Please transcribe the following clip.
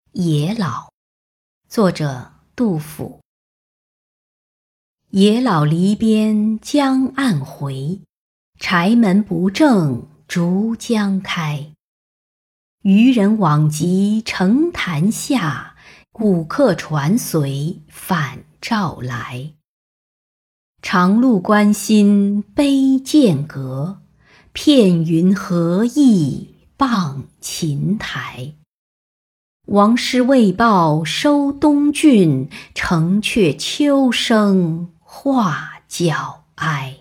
野老，作者杜甫。野老篱边江岸回，柴门不正竹浆开。渔人往极澄潭下，古客船随返照来。长路关心悲剑阁，片云何意傍琴台。王师未报收东郡，城阙秋声画角哀。